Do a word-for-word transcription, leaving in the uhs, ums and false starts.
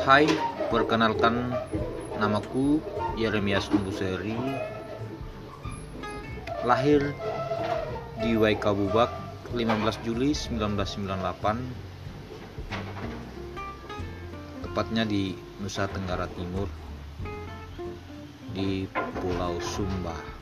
Hai, perkenalkan, namaku Yeremias Umbuseri, lahir di Waikabubak lima belas Juli seribu sembilan ratus sembilan puluh delapan, tepatnya di Nusa Tenggara Timur, di Pulau Sumba.